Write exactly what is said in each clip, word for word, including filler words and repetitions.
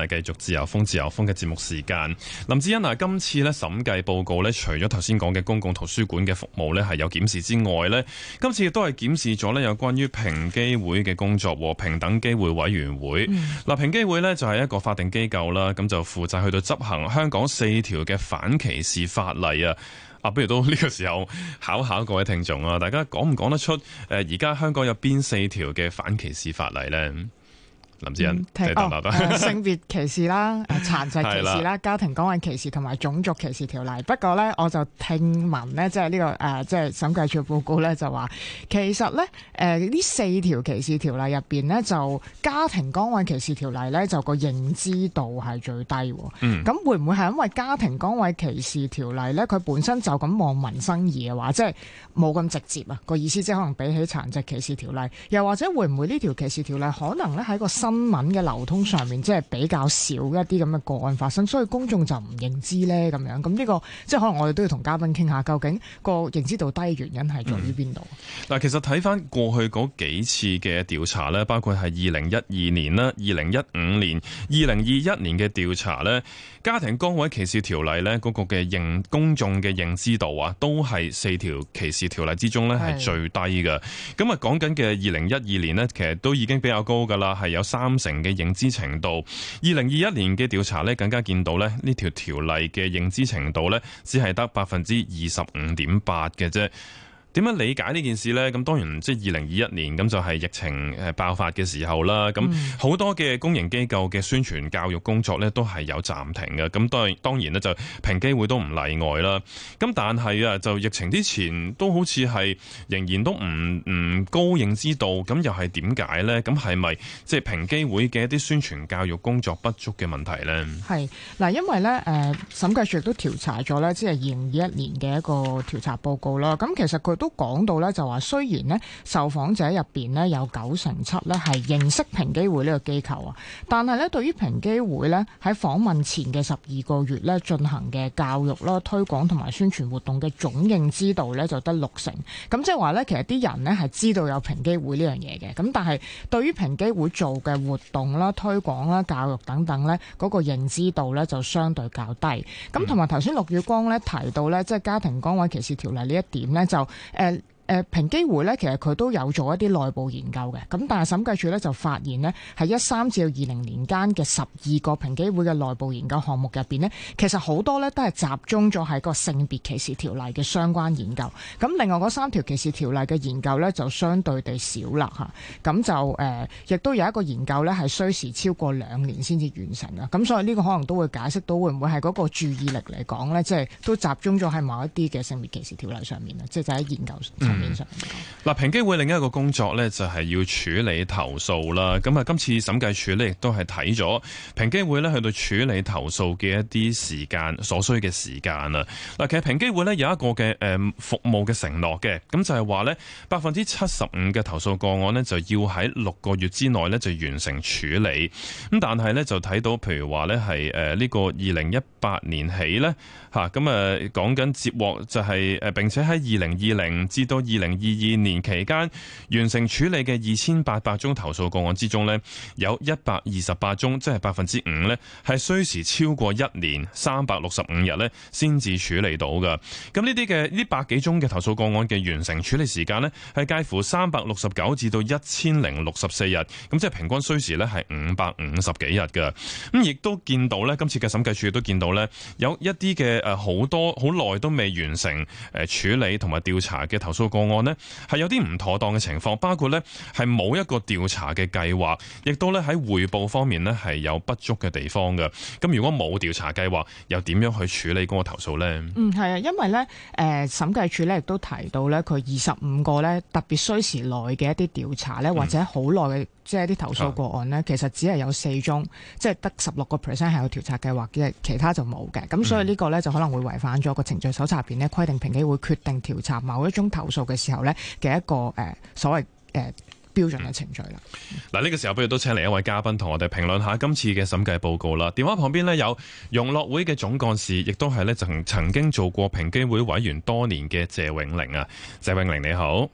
嚟繼續自由風自由風嘅節目時間。林志恩啊，今次咧審計報告咧，除咗頭先講嘅公共圖書館嘅服務咧係有檢視之外咧，今次亦都係檢視咗咧有關於平機會嘅工作和平等機會委員會。嗱、嗯，平機會咧就係一個法定機構啦，咁就負責去到執行香港四條嘅反歧視法例啊。啊，不如都呢個時候考考各位聽眾啊，大家講唔講得出誒而家香港有邊四條嘅反歧視法例咧？林志恩， 嗯哦呃、性別歧視啦、殘疾歧視啦、家庭崗位歧視同埋種族歧視條例。不過咧，我就聽聞咧，即係呢個誒，即係審計署報告咧，就話其實咧，誒呢四條歧視條例入邊咧，就家庭崗位歧視條例咧，就個認知度係最低。嗯，咁會唔會係因為家庭崗位歧視條例咧，佢本身就咁望民生義嘅話，即係冇咁直接啊？個意思即係可能比起殘疾歧視條例，又或者會唔會呢條歧視條例可能咧喺個新新聞嘅流通上面，即係比較少一啲咁嘅個案發生，所以公眾就唔認知咧咁樣。咁呢個即係可能我哋都要同嘉賓傾下，究竟個認知度低嘅原因係在於邊度？ 嗱、嗯，其實睇翻過去嗰幾次嘅調查咧，包括係二零一二年啦、二零一五年、二零二一年嘅調查咧，家庭崗位歧視條例咧嗰個嘅認公眾嘅認知度啊，都係四條歧視條例之中咧係最低嘅。咁啊，講緊嘅二零一二年咧，其實都已經比較高噶啦，係有三成嘅認知程度。二零二一年嘅調查咧，更加見到咧呢條條例嘅認知程度咧，只係得百分之二十五點八嘅啫。點樣理解呢件事呢？咁當然即係二零二一年咁就係疫情誒爆發嘅時候啦。咁好多嘅公營機構嘅宣傳教育工作呢都係有暫停嘅。咁當然當然呢就平機會都唔例外啦。咁但係啊，就疫情之前都好似係仍然都唔唔高認知度。咁又係點解呢？咁係咪即係平機會嘅一啲宣傳教育工作不足嘅問題呢？ 係嗱，因為呢誒審計署亦都調查咗呢，即係二零二一年嘅一個調查報告啦。咁其實佢都講到咧，就話雖然咧受訪者入邊咧有九成七咧係認識平機會呢個機構啊，但係咧對於平機會咧喺訪問前嘅十二個月咧進行嘅教育啦、推廣同埋宣傳活動嘅總認知度咧就得六成。咁即係話咧，其實啲人咧係知道有平機會呢樣嘢嘅，咁但係對於平機會做嘅活動啦、推廣啦、教育等等咧，嗰個認知度咧就相對較低。咁同埋頭先陸宇光咧提到咧，即係家庭崗位歧視條例呢一點咧，就誒。呃誒平機會咧，其實佢都有做一啲內部研究嘅，咁但係審計署咧就發現呢，喺一三至到二零年間嘅十二個平機會嘅內部研究項目入邊呢，其實好多咧都係集中咗喺個性別歧視條例嘅相關研究。咁另外嗰三條歧視條例嘅研究咧就相對地少啦嚇。咁就誒，亦、呃、都有一個研究咧係需時超過兩年先至完成嘅。咁所以呢個可能都會解釋到會唔會係嗰個注意力嚟講咧，即係都集中咗喺某一啲嘅性別歧視條例上面啊，即係就喺研究上。 嗱、嗯，平機會另一個工作呢，就係要處理投訴啦。咁啊，今次審計署呢，亦都係睇咗平機會呢去到處理投訴嘅一啲時間所需嘅時間啊。嗱，其實平機會呢有一個嘅誒服務嘅承諾嘅，咁就係話呢百分之七十五嘅投訴個案呢，就要喺六個月之內呢就完成處理。咁但係呢，就睇到譬如話呢係誒呢個二零一八年起呢，嚇咁啊講緊接獲就係誒並且喺二零二零至到二零二二年期間完成處理嘅二千八百宗投訴個案之中呢，有一百二十八宗，即係百分之五呢，係需時超過一年三百六十五日呢先至處理到㗎。咁呢啲嘅呢百幾宗嘅投訴個案嘅完成處理時間呢，係介乎三百六十九至到一千零六十四日，咁即係平均需時呢係五百五十幾日㗎。咁亦都見到呢，今次嘅審計署亦都見到呢，有一啲嘅誒好多好耐都未完成誒處理同埋調查嘅投訴個案呢，係有啲唔妥當嘅情況，包括呢係冇一個調查嘅計劃，亦都咧喺匯報方面呢係有不足嘅地方嘅。咁如果冇調查計劃，又點樣去處理嗰個投訴呢？ 嗯，係啊，因為呢誒審計署咧亦都提到呢，佢二十五個呢特別需時耐嘅一啲調查呢，或者好耐嘅即係啲投訴個案呢，嗯、其實只係有四宗，即係得十六個 percent 係有調查計劃嘅，其他就冇嘅。咁所以呢個呢，就可能會違反咗個程序手冊入邊呢規定，平機會決定調查某一宗投訴嘅時候呢嘅一個誒、呃、所謂誒、呃、標準嘅程序啦。嗱、 嗯，呢個時候不如都請嚟一位嘉賓同我哋評論下今次嘅審計報告啦。電話旁邊呢，有融樂會嘅總幹事，亦都係呢曾曾經做過平機會委員多年嘅謝永齡啊。謝永齡你好。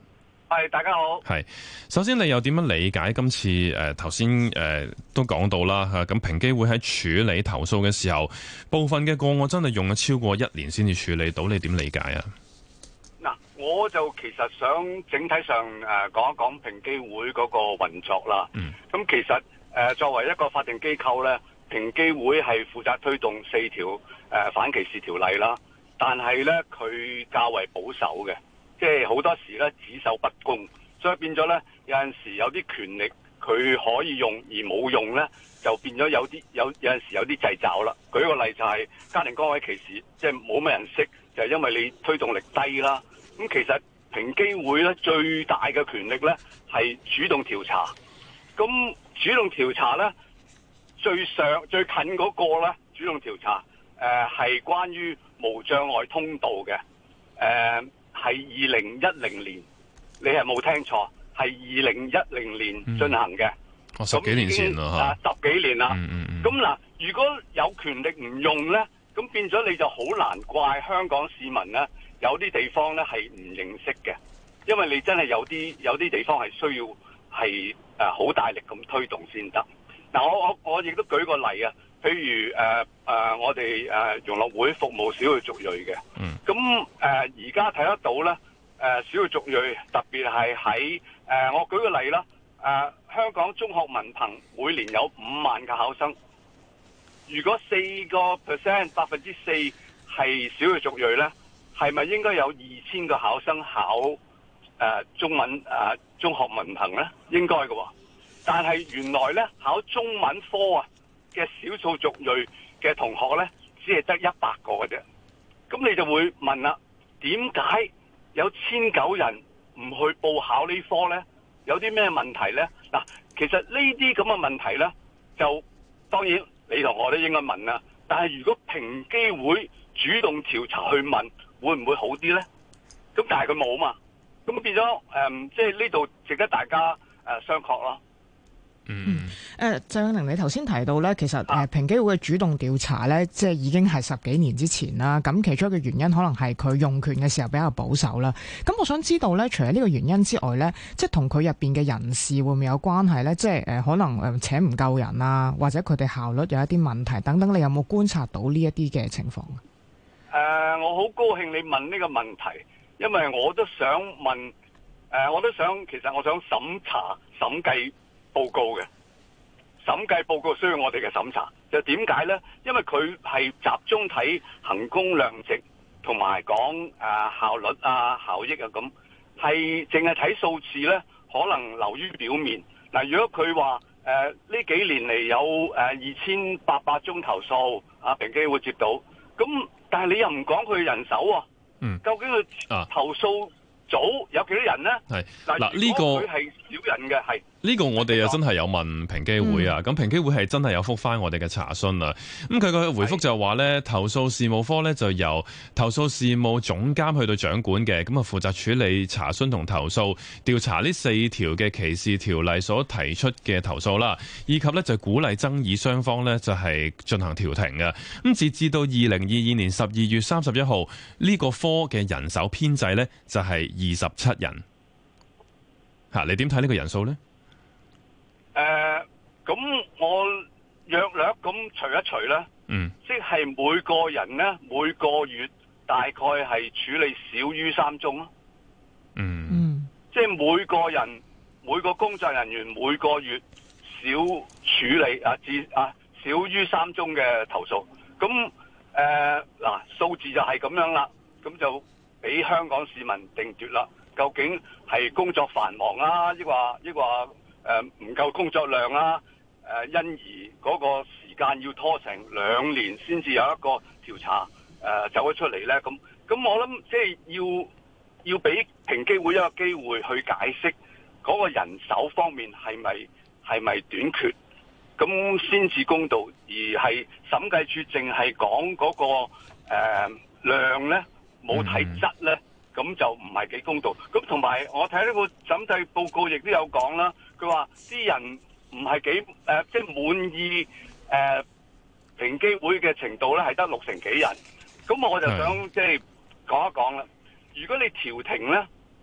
係，大家好。 係，首先你又點樣理解今次誒頭先誒都講到啦嚇，咁平機會喺處理投訴嘅時候，部分嘅個案真係用咗超過一年先至處理到，你點理解啊？ 嗱，我就其實想整體上誒講一講平機會嗰個運作啦。嗯。咁其實誒作為一個法定機構咧，平機會係負責推動四條誒反歧視條例啦，但係咧佢較為保守嘅。即係好多時咧只守不公，所以變咗咧有陣時有啲權力佢可以用而冇用咧，就變咗有啲有有陣時有啲掣肘啦。舉個例就係家庭崗位歧視，即係冇乜人識，就係因為你推動力低啦。咁其實平機會咧最大嘅權力咧係主動調查。咁主動調查咧最上最近嗰個咧主動調查誒係關於無障礙通道嘅誒。呃係二零一零年，你係冇聽錯，係二零一零年進行嘅。 哦、嗯，十幾年前啦嚇，十幾年啦。 嗯嗯嗯。 咁嗱，如果有權力唔用咧，咁變咗你就好難怪香港市民咧，有啲地方咧係唔認識嘅，因為你真係有啲有啲地方係需要係誒好大力咁推動先得。嗱，我我我亦都舉個例啊。譬如誒誒、呃呃，我哋誒融樂會服務少數族裔嘅，咁誒而家睇得到咧，誒、呃、少數族裔特別係喺誒，我舉個例啦，誒、呃、香港中學文憑每年有五萬個考生，如果四個 percent 百分之四係少數族裔咧，係咪應該有二千個考生考誒、呃、中文誒、呃、中學文憑咧？應該嘅喎，但係原來咧考中文科啊嘅少數族裔嘅同學呢，只係得一百個嘅啫。咁你就會問啦，點解有千九人唔去報考呢科呢？有啲咩問題呢？嗱，其實呢啲咁嘅問題呢，就當然你同我都應該問啦。但係如果平機會主動調查去問，會唔會好啲呢？咁但係佢冇嘛，咁變咗誒，即係呢度值得大家誒、呃、商榷咯。 嗯，誒鄭永寧，你頭先提到咧，其實誒平機會嘅主動調查咧，即係已經係十幾年之前啦。咁其中一個原因可能係佢用權嘅時候比較保守啦。咁我想知道咧，除咗呢個原因之外咧，即係同佢入邊嘅人事會唔會有關係咧？即係誒可能誒請唔夠人啊，或者佢哋效率有一啲問題等等，你有冇觀察到呢一啲嘅情況？誒、 呃，我好高興你問呢個問題，因為我都想問，誒、呃，我都想其實我想審查審計報告嘅審計報告需要我哋嘅審查，就點解呢？因為佢係集中睇衡工量值，同埋講誒效率啊、效益啊咁，係淨係睇數字呢，可能流於表面。嗱、呃，如果佢話誒呢幾年嚟有誒二千八百宗投訴，啊平機會接到，咁但係你又唔講佢人手喎、啊，嗯，究竟佢投訴組有幾多人呢？係嗱呢個佢係少人嘅，係。呢個我哋又真係有問平機會啊，咁、嗯、平機會係真係有覆返我哋嘅查詢啊。咁佢個回覆就話咧，投訴事務科咧就由投訴事務總監去到掌管嘅，咁啊負責處理查詢同投訴，調查呢四條嘅歧視條例所提出嘅投訴啦，以及咧就鼓勵爭議雙方咧就係進行調停嘅。咁截至到二零二二年十二月三十一號，呢、這個科嘅人手編制咧就係二十七人。吓，你點睇呢個人數咧？ 誒、呃，咁我略略咁除一除咧，嗯，即係每個人咧每個月大概係處理少於三宗咯，嗯嗯，即係每個人每個工作人員每個月少處理啊至啊少於三宗嘅投訴，咁誒嗱數字就係咁樣啦，咁就俾香港市民定奪啦，究竟係工作繁忙啊，抑或抑或？誒唔夠工作量啦，誒因而嗰個時間要拖成兩年先至有一個調查誒走咗出嚟咧，咁咁我諗即係要要俾平機會一個機會去解釋嗰個人手方面係咪係咪短缺，咁先至公道，而係審計處淨係講嗰個誒量咧，冇睇質咧。咁就唔係幾公道。咁同埋我睇呢個審計報告亦都有講啦，佢話啲人唔係幾誒，即係滿意誒、呃、平機會嘅程度咧，係得六成幾人。咁我就想即係講一講啦。如果你調停咧，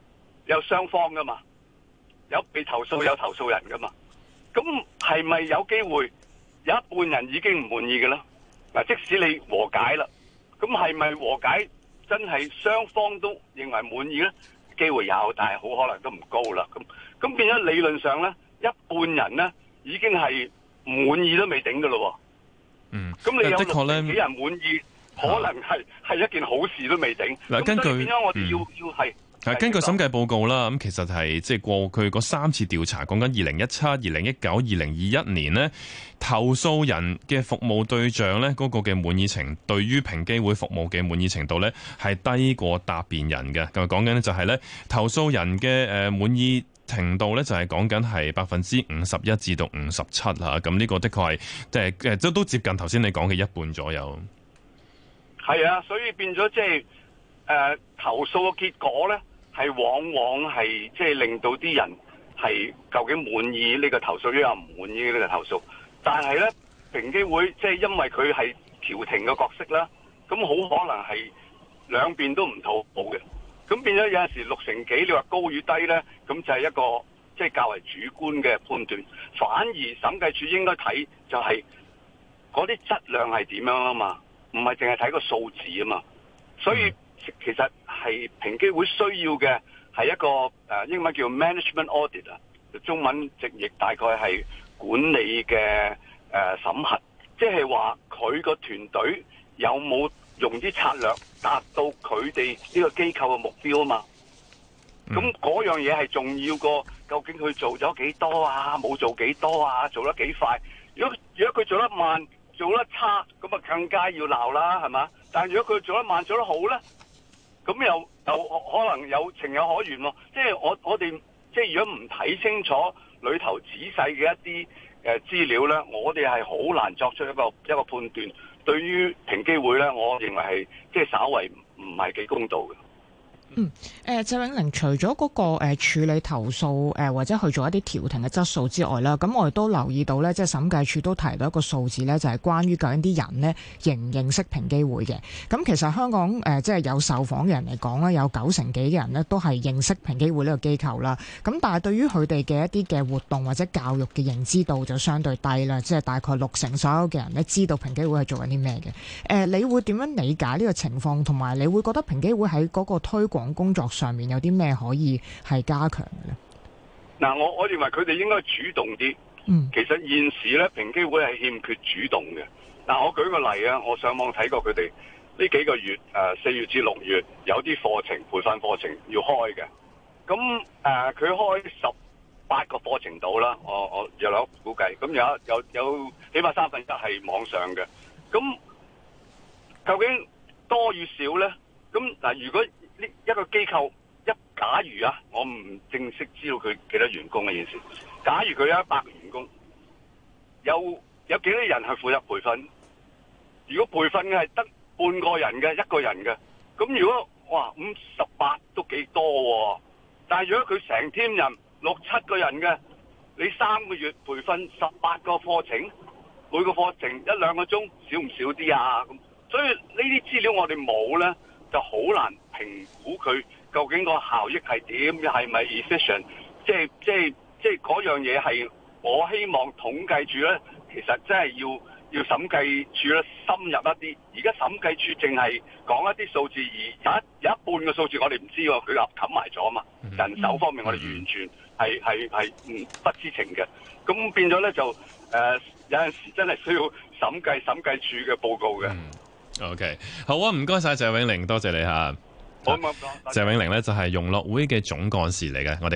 有雙方噶嘛，有被投訴有投訴人噶嘛。咁係咪有機會有一半人已經唔滿意嘅咧？嗱，即使你和解啦，咁係咪和解真係雙方都認為滿意咧？機會有，但係好可能都唔高啦。咁咁變咗理論上咧，一半人咧已經係唔滿意都未頂噶咯。 嗯， 咁你有的確咧六成幾人滿意，可能係係一件好事都未頂。 嗱，根據變咗我哋要、嗯、要係。 係根據審計報告啦，咁其實係即係過去嗰三次調查，講緊二零一七、二零一九、二零二一年呢，投訴人嘅服務對象呢，嗰個嘅滿意程，對於平機會服務嘅滿意程度呢，係低過答辯人嘅。咁講緊呢就係呢，投訴人嘅誒滿意程度呢，就係講緊係百分之五十一至到五十七嚇。咁呢個的確係即係誒都都接近頭先你講嘅一半左右。 係啊，所以變咗即係誒投訴嘅結果呢，係往往係即係令到啲人係究竟滿意呢個投訴，抑或唔滿意呢個投訴。但係咧，平機會即係因為佢係調停嘅角色啦，咁好可能係兩邊都唔討好嘅。咁變咗有陣時六成幾，你話高與低咧，咁就係一個即係較為主觀嘅判斷。反而審計署應該睇就係嗰啲質量係點樣啊嘛，唔係淨係睇個數字啊嘛。所以其實係平機會需要嘅係一個誒、呃、英文叫 management audit 啊，中文直譯大概係管理嘅誒、呃、審核，即係話佢個團隊有冇用啲策略達到佢哋呢個機構嘅目標啊嘛。咁嗰、嗯、樣嘢係重要過究竟佢做咗幾多啊，冇做幾多啊，做得幾快。如果如果佢做得慢、做得差，咁啊更加要鬧啦，係嘛？但係如果佢做得慢、做得好咧，咁又又可能有情有可原喎。即係我我哋即係如果唔睇清楚裏頭仔細嘅一啲誒資料咧，我哋係好難作出一個一個判斷。對於平機會咧，我認為係即係稍為唔係幾公道嘅。 嗯，誒謝永齡，除咗嗰個誒處理投訴誒或者去做一啲調停嘅質素之外啦，咁我哋都留意到咧，即係審計署都提到一個數字咧，就係關於究竟啲人咧認唔認識平機會嘅。咁其實香港誒即係有受訪嘅人嚟講咧，有九成幾嘅人咧都係認識平機會呢個機構啦。咁但係對於佢哋嘅一啲嘅活動或者教育嘅認知度就相對低啦，即係大概六成所有嘅人咧知道平機會係做緊啲咩嘅。誒，你會點樣理解呢個情況？同埋你會覺得平機會喺嗰個推廣工作上面有啲咩可以係加強嘅咧？嗱， 我我認為佢哋應該主動啲。嗯，其實現時咧，平機會係欠缺主動嘅。嗱，我舉個例啊，我上網睇過佢哋呢幾個月，誒四月至六月有啲課程培訓課程要開嘅。咁誒，佢、呃、開十八個課程度啦，我我有諗估計。咁有有有起碼三分一係網上嘅。咁究竟多與少咧？咁嗱，如果呢一個機構一假如啊，我唔正式知道佢幾多員工嘅件事。假如佢有一百個員工，有有幾多人係負責培訓？如果培訓嘅係得半個人嘅、一個人嘅，咁如果哇五十八都幾多喎？但係如果佢成 team 人六七個人嘅，你三個月培訓十八個課程，每個課程一兩個鐘，少唔少啲啊？咁所以呢啲資料我哋冇咧，就好難評估佢究竟個效益係點，係咪 efficient？ 即係即係即係嗰樣嘢係我希望統計處咧，其實真係要要審計處咧深入一啲。而家審計處淨係講一啲數字，而有一有一半嘅數字我哋唔知喎，佢冚冚埋咗啊嘛。人手方面我哋完全係係係唔不知情嘅。咁變咗咧就誒、呃、有陣時真係需要審計審計處嘅報告嘅。 嗯、OK， 好啊，唔該晒謝永齡，多謝你嚇。 好，唔該， 謝永齡咧就係融樂會嘅總幹事嚟嘅，我哋。